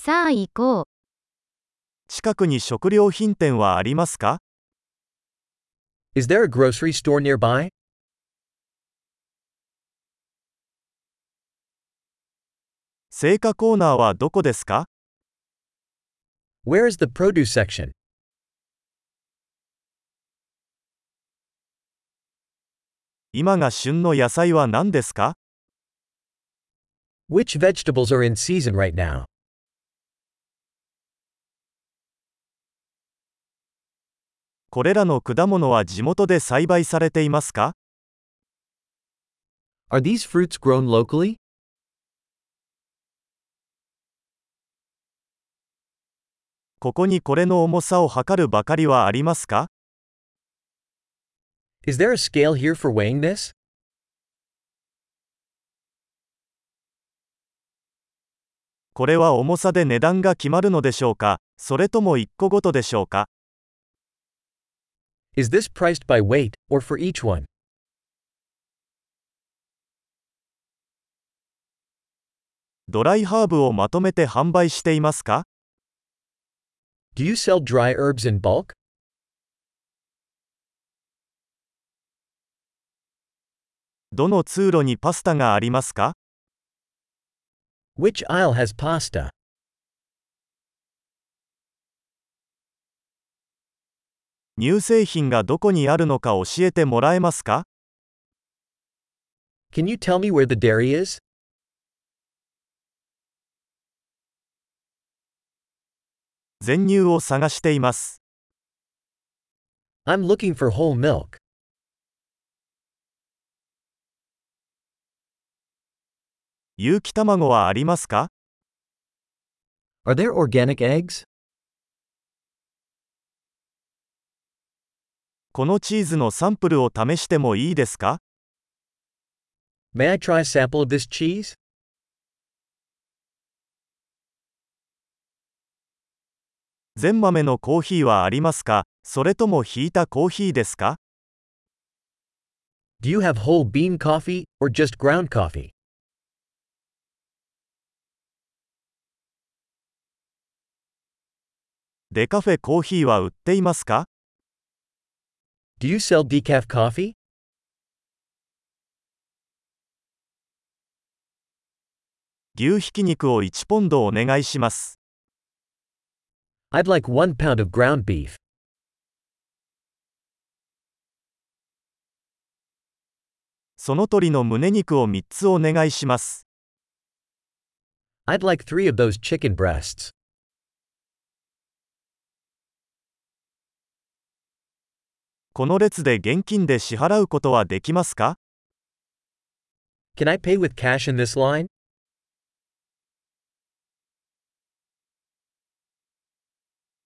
さあ行こう。 近くに食料品店はありますか？ Is there a grocery store nearby? 青果コーナーはどこですか？ Where is the produce section? 今が旬の野菜は何ですか？ Which vegetables are in season right now? これらの果物は地元で栽培されていますか？ Are these fruits grown locally? ここにこれの重さを測るばかりはありますか？ Is there a scale here for weighing this? これは重さで値段が決まるのでしょうか？それとも1個ごとでしょうか？ Is this priced by weight, or for each one? ドライハーブをまとめて販売していますか？ Do you sell dry herbs in bulk? どの通路にパスタがありますか？ Which aisle has pasta? 乳製品がどこにあるのか教えてもらえますか？ Can you tell me where the dairy is? 全乳を探しています。 I'm looking for whole milk. 有機卵はありますか？ Are there organic eggs? このチーズのサンプルを試してもいいですか？ May I try a sample of this cheese? 全豆のコーヒーはありますか？それともひいたコーヒーですか？ Do you have whole bean coffee, or just ground coffee? デカフェコーヒーは売っていますか？ Do you sell decaf coffee? 牛ひき肉を1ポンドお願いします。 I'd like 1 pound of ground beef. その鶏の胸肉を3つお願いします。 I'd like 3 of those chicken breasts. この列で現金で支払うことはできますか？ Can I pay with cash in this line?